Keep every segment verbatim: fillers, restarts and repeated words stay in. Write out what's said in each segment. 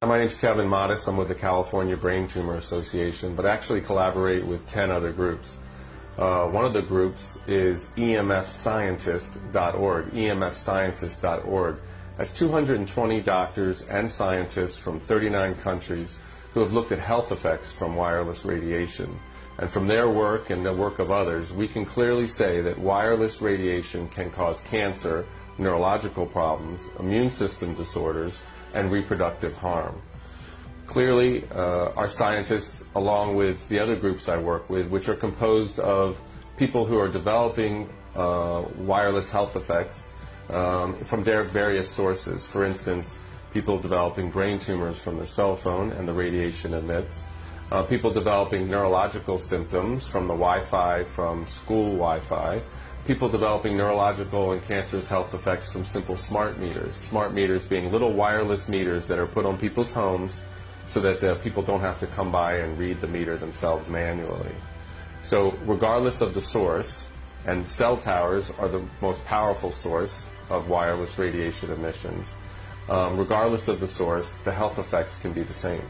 My name is Kevin Modis. I'm with the California Brain Tumor Association, but actually collaborate with ten other groups. Uh, one of the groups is E M F scientist dot org, E M F scientist dot org. That's two hundred twenty doctors and scientists from thirty-nine countries who have looked at health effects from wireless radiation. And from their work and the work of others, we can clearly say that wireless radiation can cause cancer, neurological problems, immune system disorders, and reproductive harm. Clearly, uh, our scientists, along with the other groups I work with, which are composed of people who are developing uh, wireless health effects um, from their various sources. For instance, people developing brain tumors from their cell phone and the radiation emits. Uh, people developing neurological symptoms from the Wi-Fi, from school Wi-Fi. People developing neurological and cancerous health effects from simple smart meters. Smart meters being little wireless meters that are put on people's homes so that uh, people don't have to come by and read the meter themselves manually. So regardless of the source, and cell towers are the most powerful source of wireless radiation emissions, um, regardless of the source, the health effects can be the same.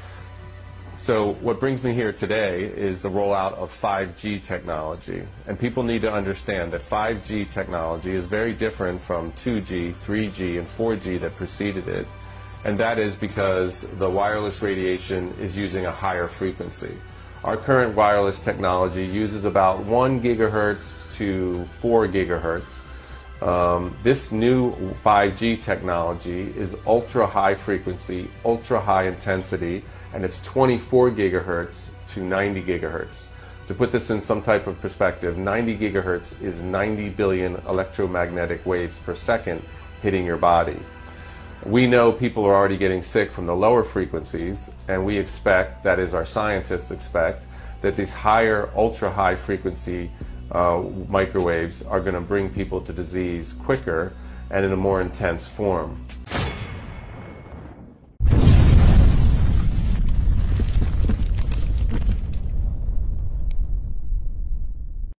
So what brings me here today is the rollout of five G technology. And people need to understand that five G technology is very different from two G, three G, and four G that preceded it. And that is because the wireless radiation is using a higher frequency. Our current wireless technology uses about one gigahertz to four gigahertz. Um, this new five G technology is ultra high frequency, ultra high intensity, and it's twenty-four gigahertz to ninety gigahertz. To put this in some type of perspective, ninety gigahertz is ninety billion electromagnetic waves per second hitting your body. We know people are already getting sick from the lower frequencies, and we expect, that is our scientists expect, that these higher ultra high frequency uh, microwaves are going to bring people to disease quicker and in a more intense form.